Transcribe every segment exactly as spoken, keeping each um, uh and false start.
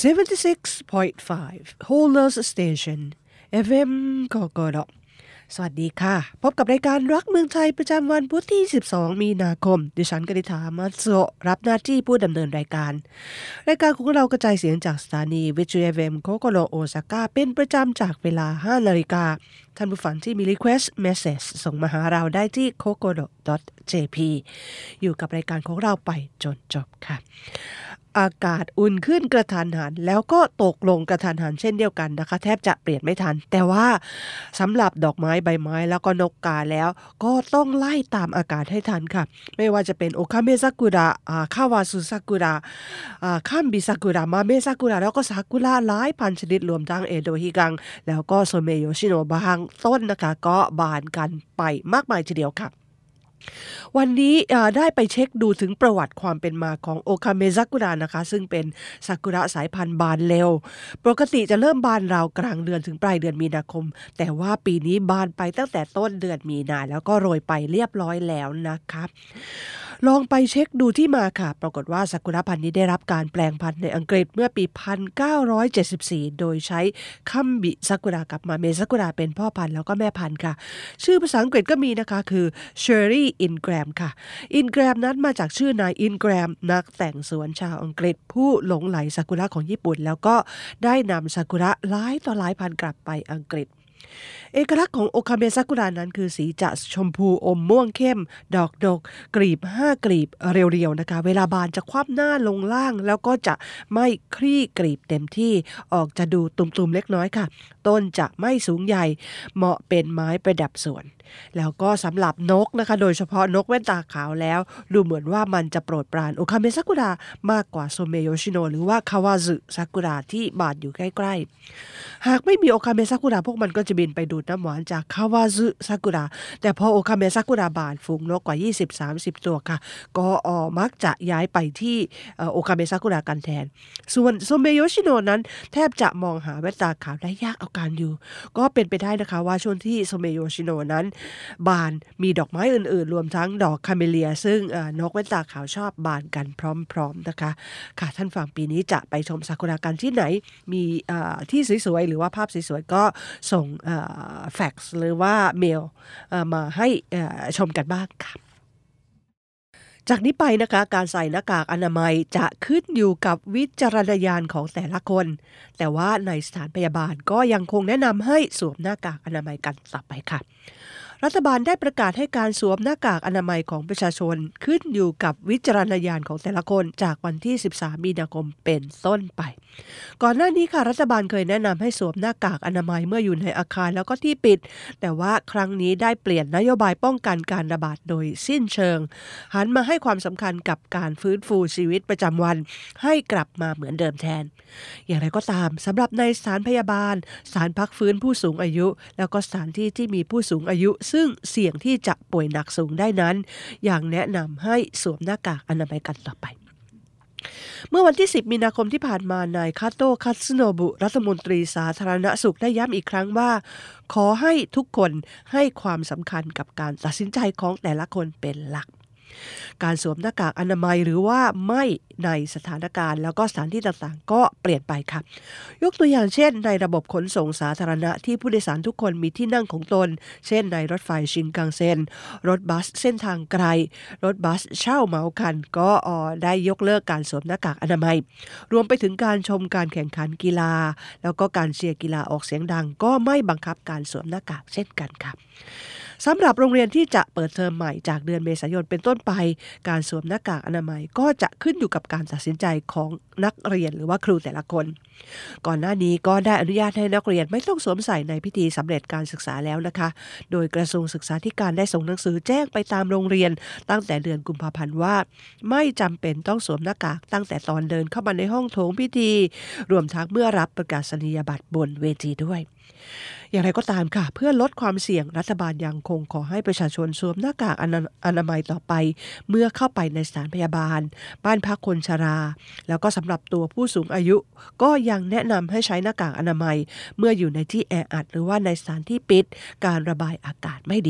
seventy-six point five Holders Station เอฟ เอ็ม กกดสวัสดีค่ะพบกับรายการรักเมืองไทยประจำวันพุธที่สิบสองมีนาคมดิฉันกนิษฐามัตโซรับหน้าที่ผู้ดำเนินรายการรายการของเรากระจายเสียงจากสถานีวิทยุ เอฟ เอ็ม โคโกโรโอซาก้าเป็นประจำจากเวลา ห้านาฬิกาท่านผู้ฟังที่มี request message ส่งมาหาเราได้ที่ โคโกโร ดอท เจ พี อยู่กับรายการของเราไปจนจบค่ะอากาศอุ่นขึ้นกระทันหันแล้วก็ตกลงกระทันหันเช่นเดียวกันนะคะแทบจะเปลี่ยนไม่ทันแต่ว่าสำหรับดอกไม้ใบไม้แล้วก็นกกาแล้วก็ต้องไล่ตามอากาศให้ทันค่ะไม่ว่าจะเป็นโอคาเมซากุระคาวาซุซากุระคัมบิซากุระมาเมซากุระแล้วก็ซากุระหลายพันชนิดรวมทั้งเอโดฮิกังแล้วก็โซเมโยชิโนะบางต้นนะคะก็บานกันไปมากมายทีเดียวค่ะวันนี้ได้ไปเช็คดูถึงประวัติความเป็นมาของโอคาเมซากุระนะคะซึ่งเป็นซากุระสายพันธุ์บานเร็วปกติจะเริ่มบานราวกลางเดือนถึงปลายเดือนมีนาคมแต่ว่าปีนี้บานไปตั้งแต่ต้นเดือนมีนาแล้วก็โรยไปเรียบร้อยแล้วนะคะลองไปเช็คดูที่มาค่ะปรากฏว่าซากุระพันธุ์นี้ได้รับการแปลงพันธุ์ในอังกฤษเมื่อปีหนึ่งพันเก้าร้อยเจ็ดสิบสี่โดยใช้คัมบิซากุระกับมาเมซากุระเป็นพ่อพันธุ์แล้วก็แม่พันธุ์ค่ะชื่อภาษาอังกฤษก็มีนะคะคือเชอร์รี่อินแกรมค่ะอินแกรมนั้นมาจากชื่อนายอินแกรมนักแต่งสวนชาวอังกฤษผู้หลงใหลซากุระของญี่ปุ่นแล้วก็ได้นำซากุระหลายต่อหลายพันกลับไปอังกฤษเอกลักษณ์ของโอคาเมซากุระนั้นคือสีจะชมพูอมม่วงเข้มดอกดกกลีบห้ากลีบเรียวๆนะคะเวลาบานจะคว่ำหน้าลงล่างแล้วก็จะไม่คลี่กลีบเต็มที่ออกจะดูตุ่มๆเล็กน้อยค่ะต้นจะไม่สูงใหญ่เหมาะเป็นไม้ประดับสวนแล้วก็สำหรับนกนะคะโดยเฉพาะนกแว่นตาขาวแล้วดูเหมือนว่ามันจะโปรดปรานโอคาเมซากุระมากกว่าโซเมโยชิโนะหรือว่าคาวาซึซากุระที่บานอยู่ใกล้ๆหากไม่มีโอคาเมซากุระพวกมันก็จะบินไปดูดน้ำหวานจากคาวาซึซากุระแต่พอโอคาเมซากุระบานฝูงนกกว่า ยี่สิบถึงสามสิบ ตัวค่ะก็ออมักจะย้ายไปที่โอคาเมซากุระกันแทนส่วนโซเมโยชิโนะนั้นแทบจะมองหาแว่นตาขาวได้ยากเอาการอยู่ก็เป็นไปได้นะคะว่าช่วงที่โซเมโยชิโนะนั้นบานมีดอกไม้อื่นๆรวมทั้งดอกคาเมเลียซึ่งนกแว่นตาขาวชอบบานกันพร้อมๆนะคะค่ะท่านฟังปีนี้จะไปชมซากุระกันที่ไหนมีที่สวยๆหรือว่าภาพสวยๆก็ส่งแฟกซ์หรือว่าเมลมาให้ชมกันบ้างค่ะจากนี้ไปนะคะการใส่หน้ากากอนามัยจะขึ้นอยู่กับวิจารณญาณของแต่ละคนแต่ว่าในสถานพยาบาลก็ยังคงแนะนำให้สวมหน้ากากอนามัยกันต่อไปค่ะรัฐบาลได้ประกาศให้การสวมหน้ากากอนามัยของประชาชนขึ้นอยู่กับวิจารณญาณของแต่ละคนจากวันที่สิบสามมีนาคมเป็นต้นไปก่อนหน้านี้ค่ะรัฐบาลเคยแนะนำให้สวมหน้ากากอนามัยเมื่ออยู่ในอาคารแล้วก็ที่ปิดแต่ว่าครั้งนี้ได้เปลี่ยนนโยบายป้องกันการระบาดโดยสิ้นเชิงหันมาให้ความสำคัญกับการฟื้นฟูชีวิตประจำวันให้กลับมาเหมือนเดิมแทนอย่างไรก็ตามสำหรับในสถานพยาบาลสถานพักฟื้นผู้สูงอายุแล้วก็สถานที่ที่มีผู้สูงอายุซึ่งเสี่ยงที่จะป่วยหนักสูงได้นั้นอย่างแนะนำให้สวมหน้ากากอนามัยกันต่อไปเมื่อวันที่สิบมีนาคมที่ผ่านมานายคาโตะ คัตสึโนบุรัฐมนตรีสาธารณสุขได้ย้ำอีกครั้งว่าขอให้ทุกคนให้ความสำคัญกับการตัดสินใจของแต่ละคนเป็นหลักการสวมหน้ากากอนามัยหรือว่าไม่ในสถานการณ์แล้วก็สถานที่ต่างๆก็เปลี่ยนไปค่ะยกตัวอย่างเช่นในระบบขนส่งสาธารณะที่ผู้โดยสารทุกคนมีที่นั่งของตนเช่นในรถไฟชินคังเซ็นรถบัสเส้นทางไกลรถบัสเช่าเหมาคันก็ได้ยกเลิกการสวมหน้ากากอนามัยรวมไปถึงการชมการแข่งขันกีฬาแล้วก็การเชียร์กีฬาออกเสียงดังก็ไม่บังคับการสวมหน้ากากเช่นกันค่ะสำหรับโรงเรียนที่จะเปิดเทอมใหม่จากเดือนเมษายนเป็นต้นไปการสวมหน้ากากอนามัยก็จะขึ้นอยู่กับการตัดสินใจของนักเรียนหรือว่าครูแต่ละคนก่อนหน้านี้ก็ได้อนุญาตให้นักเรียนไม่ต้องสวมใส่ในพิธีสำเร็จการศึกษาแล้วนะคะโดยกระทรวงศึกษาธิการได้ส่งหนังสือแจ้งไปตามโรงเรียนตั้งแต่เดือนกุมภาพันธ์ว่าไม่จำเป็นต้องสวมหน้ากากตั้งแต่ตอนเดินเข้ามาในห้องโถงพิธีรวมทั้งเมื่อรับประกาศนียบัตรบนเวทีด้วยอย่างไรก็ตามค่ะเพื่อลดความเสี่ยงรัฐบาลยังคงขอให้ประชาชนสวมหน้ากากอนามัยต่อไปเมื่อเข้าไปในสถานพยาบาลบ้านพักคนชราแล้วก็สำหรับตัวผู้สูงอายุก็ยังแนะนำให้ใช้หน้ากากอนามัยเมื่ออยู่ในที่แออัดหรือว่าในสถานที่ปิดการระบายอากาศไม่ดี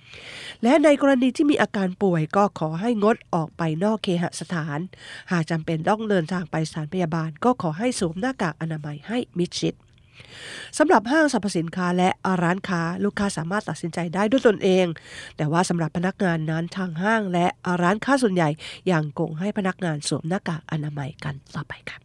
และในกรณีที่มีอาการป่วยก็ขอให้งดออกไปนอกเคหสถานหากจำเป็นต้องเดินทางไปสถานพยาบาลก็ขอให้สวมหน้ากากอนามัยให้มิดชิดสำหรับห้างสรรพสินค้าและร้านค้าลูกค้าสามารถตัดสินใจได้ด้วยตนเองแต่ว่าสำหรับพนักงานนั้นทางห้างและร้านค้าส่วนใหญ่ยังคงให้พนักงานสวมหน้ากากอนามัยกันต่อไปค่ะ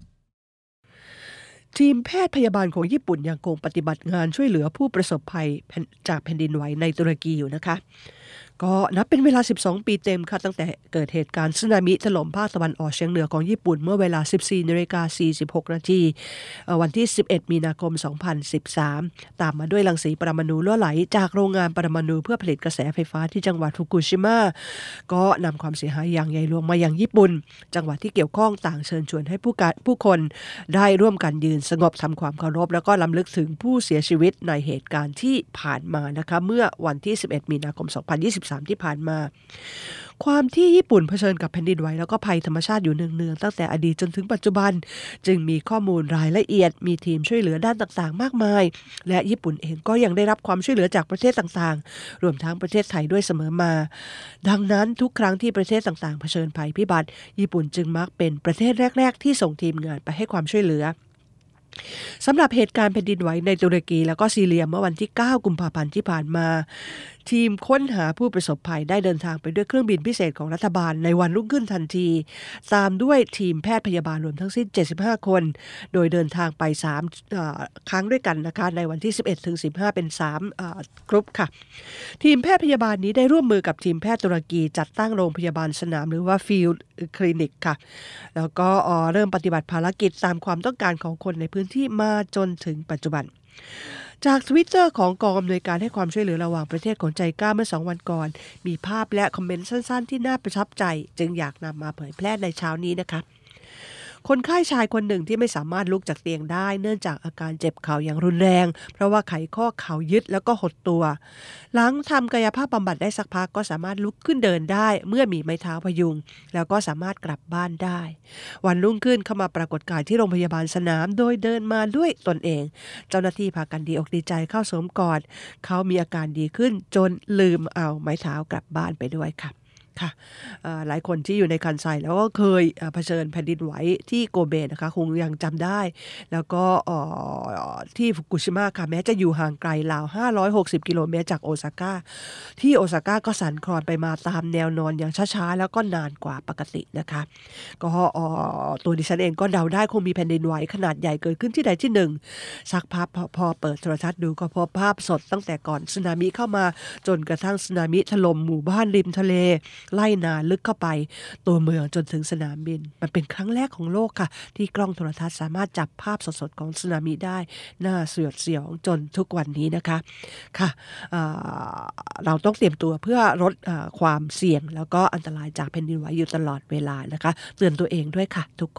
ทีมแพทย์พยาบาลของญี่ปุ่นยังคงปฏิบัติงานช่วยเหลือผู้ประสบภัยจากแผ่นดินไหวในตุรกีอยู่นะคะก็นับเป็นเวลาสิบสองปีเต็มค่ะตั้งแต่เกิดเหตุการณ์สึนามิถล่มภาคตะวันออกเฉียงเหนือของญี่ปุ่นเมื่อเวลา สิบสี่นาฬิกาสี่สิบหกนาทีวันที่สิบเอ็ดมีนาคมสองพันสิบสามตามมาด้วยรังสีปรมาณูรั่วไหลจากโรงงานปรมาณูเพื่อผลิตกระแสไฟฟ้าที่จังหวัดฟุกุชิมะก็นำความเสียหายอย่างใหญ่หลวงมายังญี่ปุ่นจังหวัดที่เกี่ยวข้องต่างเชิญชวนให้ผู้ผู้คนได้ร่วมกันยืนสงบทำความเคารพแล้วก็รำลึกถึงผู้เสียชีวิตในเหตุการณ์ที่ผ่านมานะคะเมื่อวันที่สิบเอ็ดมีนาคมสองพันยี่สิบสามที่ผ่านมาความที่ญี่ปุ่นเผชิญกับแผ่นดินไหวแล้วก็ภัยธรรมชาติอยู่เนืองๆตั้งแต่อดีตจนถึงปัจจุบันจึงมีข้อมูลรายละเอียดมีทีมช่วยเหลือด้านต่างๆมากมายและญี่ปุ่นเองก็ยังได้รับความช่วยเหลือจากประเทศต่างๆรวมทั้งประเทศไทยด้วยเสมอมาดังนั้นทุกครั้งที่ประเทศต่างๆเผชิญภัยพิบัติญี่ปุ่นจึงมักเป็นประเทศแรกๆที่ส่งทีมงานไปให้ความช่วยเหลือสำหรับเหตุการณ์แผ่นดินไหวในตุรกีแล้วก็ซีเรียเมื่อวันที่เก้ากุมภาพันธ์ที่ผ่านมาทีมค้นหาผู้ประสบภัยได้เดินทางไปด้วยเครื่องบินพิเศษของรัฐบาลในวันรุ่งขึ้นทันทีตามด้วยทีมแพทย์พยาบาลรวมทั้งสิ้นเจ็ดสิบห้าคนโดยเดินทางไปสามเอ่อครั้งด้วยกันนะคะในวันที่สิบเอ็ดถึงสิบห้าเป็นสามเอ่อกรุ๊ปค่ะทีมแพทย์พยาบาลนี้ได้ร่วมมือกับทีมแพทย์ตุรกีจัดตั้งโรงพยาบาลสนามหรือว่าฟิลด์คลินิกค่ะแล้วก็เริ่มปฏิบัติภารกิจตามความต้องการของคนในพื้นที่มาจนถึงปัจจุบันจาก Twitter ของกองอำนวยการให้ความช่วยเหลือระหว่างประเทศของใจกล้าเมื่อสองวันก่อนมีภาพและคอมเมนต์สั้นๆที่น่าประทับใจจึงอยากนำมาเผยแพร่ในเช้านี้นะคะคนไข้ชายคนหนึ่งที่ไม่สามารถลุกจากเตียงได้เนื่องจากอาการเจ็บเข่าอย่างรุนแรงเพราะว่าไขข้อเข่ายึดแล้วก็หดตัวหลังทำกายภาพบำบัดได้สักพักก็สามารถลุกขึ้นเดินได้เมื่อมีไม้เท้าพยุงแล้วก็สามารถกลับบ้านได้วันรุ่งขึ้นเข้ามาปรากฏกายที่โรงพยาบาลสนามโดยเดินมาด้วยตนเองเจ้าหน้าที่พากันดีอกดีใจเข้าสวมกอดเขามีอาการดีขึ้นจนลืมเอาไม้เท้ากลับบ้านไปด้วยค่ะค่ะหลายคนที่อยู่ในคันไซแล้วก็เคยเผชิญแผ่นดินไหวที่โกเบนะคะคงยังจำได้แล้วก็ที่ฟุกุชิมะค่ะแม้จะอยู่ห่างไกลราวห้าร้อยหกสิบกิโลเมตรจากโอซาก้าที่โอซาก้าก็สั่นคลอนไปมาตามแนวนอนอย่างช้าๆแล้วก็นานกว่าปกตินะคะก็ตัวดิฉันเองก็เดาได้คงมีแผ่นดินไหวขนาดใหญ่เกิดขึ้นที่ใดที่หนึ่งสักพักพอเปิดโทรทัศน์ดูก็พบภาพสดตั้งแต่ก่อนสึนามิเข้ามาจนกระทั่งสึนามิถล่มหมู่บ้านริมทะเลไล่นาลึกเข้าไปตัวเมืองจนถึงสนามบินมันเป็นครั้งแรกของโลกค่ะที่กล้องโทรทัศน์สามารถจับภาพสดๆของสึนามิได้น่าสยดสยองจนทุกวันนี้นะคะค่ะเราต้องเตรียมตัวเพื่อลดความเสี่ยงแล้วก็อันตรายจากแผ่นดินไหวอยู่ตลอดเวลานะคะเตือนตัวเองด้วยค่ะทุกคน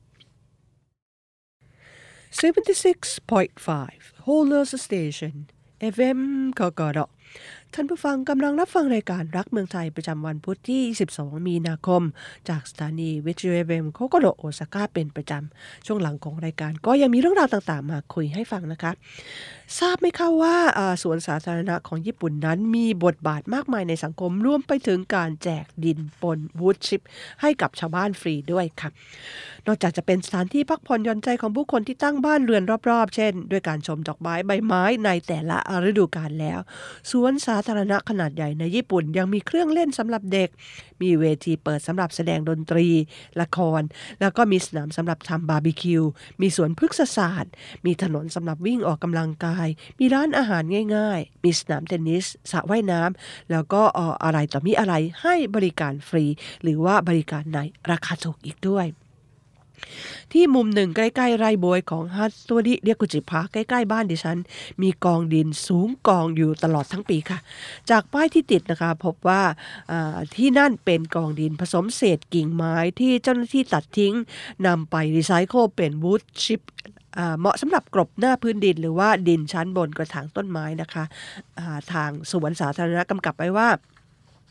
seventy-six point five Holders Station เอ เอฟ เอ็ม กกร.ท่านผู้ฟังกำลังรับฟังรายการรักเมืองไทยประจำวันพุธที่ยี่สิบสองมีนาคมจากสถานีวิทยุ เอ เอ็ม โคโกโดโอซาก้าเป็นประจำช่วงหลังของรายการก็ยังมีเรื่องราวต่างๆมาคุยให้ฟังนะคะทราบไหมคะว่าสวนสาธารณะของญี่ปุ่นนั้นมีบทบาทมากมายในสังคมรวมไปถึงการแจกดินปนวูดชิปให้กับชาวบ้านฟรีด้วยค่ะนอกจากจะเป็นสถานที่พักผ่อนหย่อนใจของผู้คนที่ตั้งบ้านเรือนรอบๆเช่นด้วยการชมดอกไม้ใบไม้ในแต่ละฤดูกาลแล้วสวนสาธารณะขนาดใหญ่ในญี่ปุ่นยังมีเครื่องเล่นสำหรับเด็กมีเวทีเปิดสำหรับแสดงดนตรีละครแล้วก็มีสนามสำหรับทำบาร์บีคิวมีสวนพฤกษศาสตร์มีถนนสำหรับวิ่งออกกำลังกายมีร้านอาหารง่ายๆมีสนามเทนนิสสระว่ายน้ำแล้วก็อะไรต่อมีอะไรให้บริการฟรีหรือว่าบริการในราคาถูกอีกด้วยที่มุมหนึ่งใกล้ๆไร่บวยของฮัตตัวดิเรียกุจิพาใกล้ๆบ้านดิฉันมีกองดินสูงกองอยู่ตลอดทั้งปีค่ะจากป้ายที่ติดนะคะพบว่าที่นั่นเป็นกองดินผสมเศษกิ่งไม้ที่เจ้าหน้าที่ตัดทิ้งนำไปรีไซเคิลเป็นวูดชิปเหมาะสำหรับกลบหน้าพื้นดินหรือว่าดินชั้นบนกระถางต้นไม้นะคะทางสวนสาธารณะกำกับไว้ว่า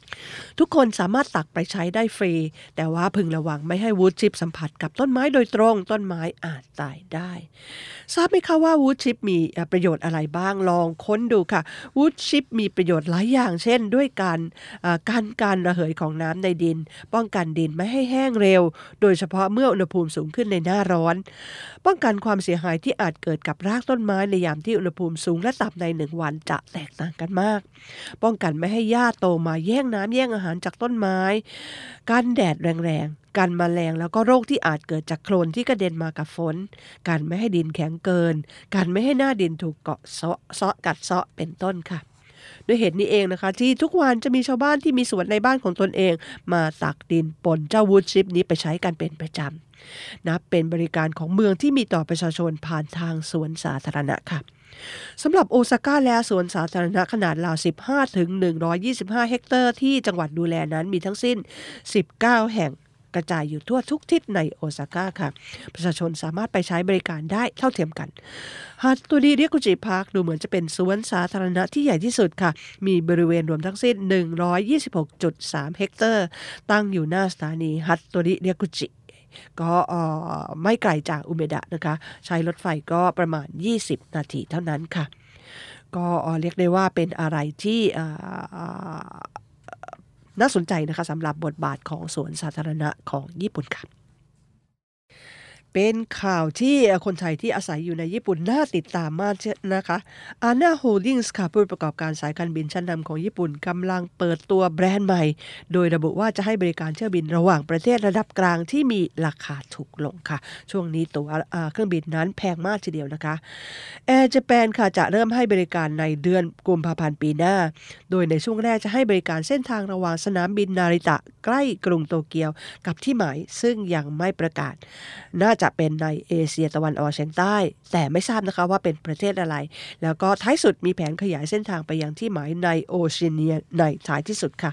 ทุกคนสามารถตักไปใช้ได้ฟรีแต่ว่าพึงระวังไม่ให้วูดชิปสัมผัสกับต้นไม้โดยตรงต้นไม้อาจตายได้ทราบไหมคะว่าวูดชิปมีประโยชน์อะไรบ้างลองค้นดูค่ะวูดชิปมีประโยชน์หลายอย่างเช่นด้วยการกันการระเหยของน้ำในดินป้องกันดินไม่ให้แห้งเร็วโดยเฉพาะเมื่ออุณหภูมิสูงขึ้นในหน้าร้อนป้องกันความเสียหายที่อาจเกิดกับรากต้นไม้ในยามที่อุณหภูมิสูงและต่ำในหนึ่งวันจะแตกต่างกันมากป้องกันไม่ให้หญ้าโตมาแย่งน้ำแย่งอาหารจากต้นไม้กันแดดแรงๆกันแมลงแล้วก็โรคที่อาจเกิดจากโคลนที่กระเด็นมากับฝนกันไม่ให้ดินแข็งเกินกันไม่ให้หน้าดินถูกเกาะเซาะเซาะกัดเซาะเป็นต้นค่ะด้วยเหตุนี้เองนะคะที่ทุกวันจะมีชาวบ้านที่มีสวนในบ้านของตนเองมาตักดินปนเจ้าวูดชิปนี้ไปใช้กันเป็นประจำนับเป็นบริการของเมืองที่มีต่อประชาชนผ่านทางสวนสาธารณะค่ะสำหรับโอซาก้าและสวนสาธารณะขนาดราว สิบห้าถึงหนึ่งร้อยยี่สิบห้า เฮกเตอร์ที่จังหวัดดูแลนั้นมีทั้งสิ้นสิบเก้าแห่งกระจายอยู่ทั่วทุกทิศในโอซาก้าค่ะประชาชนสามารถไปใช้บริการได้เท่าเทียมกันฮัตโตริเรียกุจิพาร์คดูเหมือนจะเป็นสวนสาธารณะที่ใหญ่ที่สุดค่ะมีบริเวณรวมทั้งสิ้น หนึ่งร้อยยี่สิบหกจุดสาม เฮกเตอร์ตั้งอยู่หน้าสถานีฮัตโตริเรียกุจิก็ไม่ไกลจากอุเมดะนะคะใช้รถไฟก็ประมาณยี่สิบนาทีเท่านั้นค่ะก็เรียกได้ว่าเป็นอะไรที่น่าสนใจนะคะสำหรับบทบาทของสวนสาธารณะของญี่ปุ่นค่ะเป็นข่าวที่คนไทยที่อาศัยอยู่ในญี่ปุ่นน่าติดตามมากนะคะอาน่าโฮลดิ้งส์ค่ะผู้ประกอบการสายการบินชั้นนำของญี่ปุ่นกำลังเปิดตัวแบรนด์ใหม่โดยระบุว่าจะให้บริการเที่ยวบินระหว่างประเทศระดับกลางที่มีราคาถูกลงค่ะช่วงนี้ตั๋วเครื่องบินนั้นแพงมากทีเดียวนะคะ Air Japan ค่ะจะเริ่มให้บริการในเดือนกุมภาพันธ์ปีหน้าโดยในช่วงแรกจะให้บริการเส้นทางระหว่างสนามบินนาริตะใกล้กรุงโตเกียวกับที่หมายซึ่งยังไม่ประกาศน่าจะเป็นในเอเชียตะวันออกเฉียงใต้แต่ไม่ทราบนะคะว่าเป็นประเทศอะไรแล้วก็ท้ายสุดมีแผนขยายเส้นทางไปยังที่หมายในโอเชียเนียในท้ายที่สุดค่ะ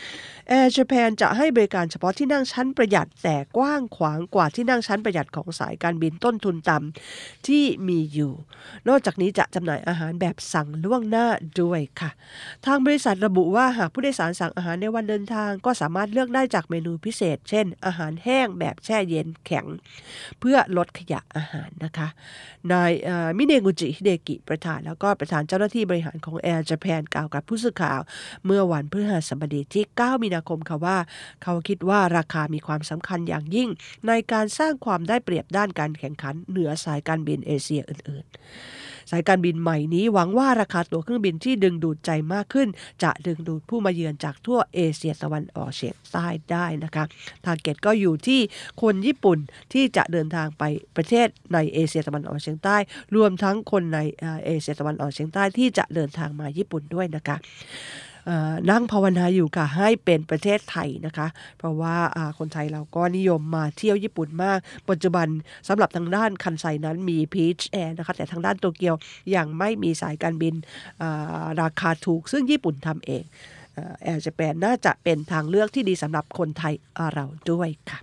Air Japan จะให้บริการเฉพาะที่นั่งชั้นประหยัดแต่กว้างขวางกว่าที่นั่งชั้นประหยัดของสายการบินต้นทุนต่ำที่มีอยู่นอกจากนี้จะจำหน่ายอาหารแบบสั่งล่วงหน้าด้วยค่ะทางบริษัทระบุว่าหากผู้โดยสารสั่งอาหารในวันเดินทางก็สามารถเลือกได้จากเมนูพิเศษเช่นอาหารแห้งแบบแช่เย็นแข็งเพื่อลดขยะอาหารนะคะนายมิเนกุจิฮิเดกิประธานแล้วก็ประธานเจ้าหน้าที่บริหารของ Air Japan กล่าวกับผู้สื่อข่าวเมื่อวันพฤหัสบดีที่เก้ามีนาคมค่ะว่าเขาคิดว่าราคามีความสำคัญอย่างยิ่งในการสร้างความได้เปรียบด้านการแข่งขันเหนือสายการบินเอเชียอื่นๆสายการบินใหม่นี้หวังว่าราคาตั๋วเครื่องบินที่ดึงดูดใจมากขึ้นจะดึงดูดผู้มาเยือนจากทั่วเอเชียตะวันออกเฉียงใต้ได้นะคะทาร์เก็ตก็อยู่ที่คนญี่ปุ่นที่จะเดินทางไปประเทศในเอเชียตะวันออกเฉียงใต้รวมทั้งคนในเอเชียตะวันออกเฉียงใต้ที่จะเดินทางมาญี่ปุ่นด้วยนะคะนั่งภาวนาอยู่ค่ะให้เป็นประเทศไทยนะคะเพราะว่าคนไทยเราก็นิยมมาเที่ยวญี่ปุ่นมากปัจจุบันสำหรับทางด้านคันไซนั้นมี Peach Air นะคะแต่ทางด้านโตเกียวยังไม่มีสายการบินราคาถูกซึ่งญี่ปุ่นทำเองแอร์ญี่ปุ่นน่าจะเป็นทางเลือกที่ดีสำหรับคนไทยเราด้วยค่ะ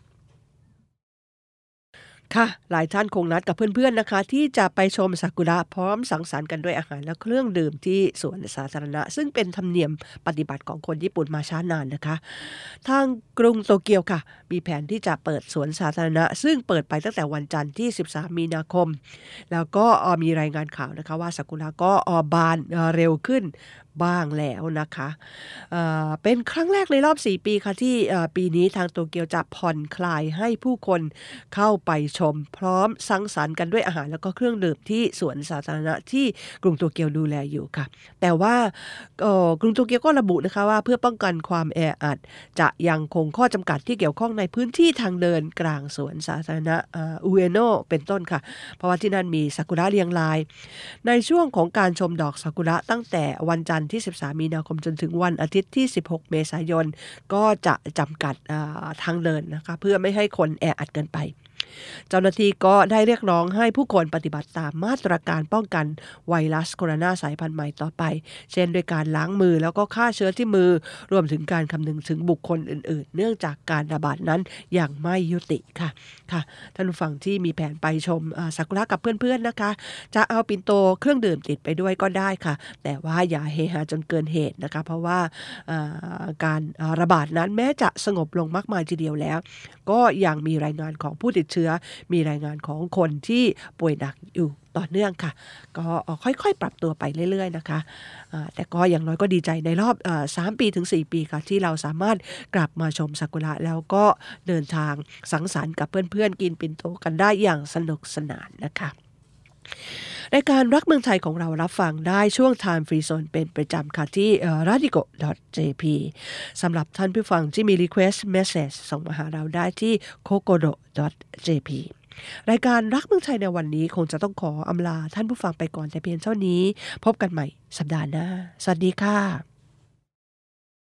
ค่ะหลายท่านคงนัดกับเพื่อนๆนะคะที่จะไปชมซากุระพร้อมสังสรรค์กันด้วยอาหารและเครื่องดื่มที่สวนสาธารณะซึ่งเป็นธรรมเนียมปฏิบัติของคนญี่ปุ่นมาช้านานนะคะทางกรุงโตเกียวค่ะมีแผนที่จะเปิดสวนสาธารณะซึ่งเปิดไปตั้งแต่วันจันทร์ที่สิบสามมีนาคมแล้วก็มีรายงานข่าวนะคะว่าซากุระก็บานเร็วขึ้นบ้างแล้วนะคะเอ่อเป็นครั้งแรกในรอบสี่ปีค่ะที่ปีนี้ทางโตเกียวจะผ่อนคลายให้ผู้คนเข้าไปชมพร้อมสังสรรค์กันด้วยอาหารแล้วก็เครื่องดื่มที่สวนสาธารณะที่กรุงโตเกียวดูแลอยู่ค่ะแต่ว่ากรุงโตเกียวก็ระบุนะคะว่าเพื่อป้องกันความแออัดจะยังคงข้อจำกัดที่เกี่ยวข้องในพื้นที่ทางเดินกลางสวนสาธารณะอุเอโนะเป็นต้นค่ะเพราะว่าที่นั่นมีซากุระเรียงรายในช่วงของการชมดอกซากุระตั้งแต่วันจันทร์ที่สิบสามมีนาคมจนถึงวันอาทิตย์ที่สิบหกเมษายนก็จะจำกัดทางเดินนะคะเพื่อไม่ให้คนแออัดเกินไปเจ้าหน้าที่ก็ได้เรียกร้องให้ผู้คนปฏิบัติตามมาตรการป้องกันไวรัสโคโรนาสายพันธุ์ใหม่ต่อไปเช่นด้วยการล้างมือแล้วก็ฆ่าเชื้อที่มือรวมถึงการคำนึงถึงบุคคลอื่นๆเนื่องจากการระบาดนั้นยังไม่ยุติค่ะค่ะท่านผู้ฟังที่มีแผนไปชมซากุระกับเพื่อนๆนะคะจะเอาปิ่นโตเครื่องดื่มติดไปด้วยก็ได้ค่ะแต่ว่าอย่าเฮฮาจนเกินเหตุนะคะเพราะว่าการระบาดนั้นแม้จะสงบลงมากมายทีเดียวแล้วก็ยังมีรายงานของผู้ติดเชื้อมีรายงานของคนที่ป่วยหนักอยู่ต่อเนื่องค่ะก็ค่อยๆปรับตัวไปเรื่อยๆนะคะแต่ก็อย่างน้อยก็ดีใจในรอบสามปีถึงสี่ปีค่ะที่เราสามารถกลับมาชมซากุระแล้วก็เดินทางสังสรรค์กับเพื่อนๆกินปิ่นโตกันได้อย่างสนุกสนานนะคะรายการรักเมืองไทยของเรารับฟังได้ช่วง Time Free Zone เป็นประจำค่ะที่ radico ดอท เจ พี สำหรับท่านผู้ฟังที่มี request message ส่งมาหาเราได้ที่ kokodo ดอท เจ พี รายการรักเมืองไทยในวันนี้คงจะต้องขออำลาท่านผู้ฟังไปก่อนแต่เพียงเท่านี้พบกันใหม่สัปดาห์หน้าสวัสดีค่ะ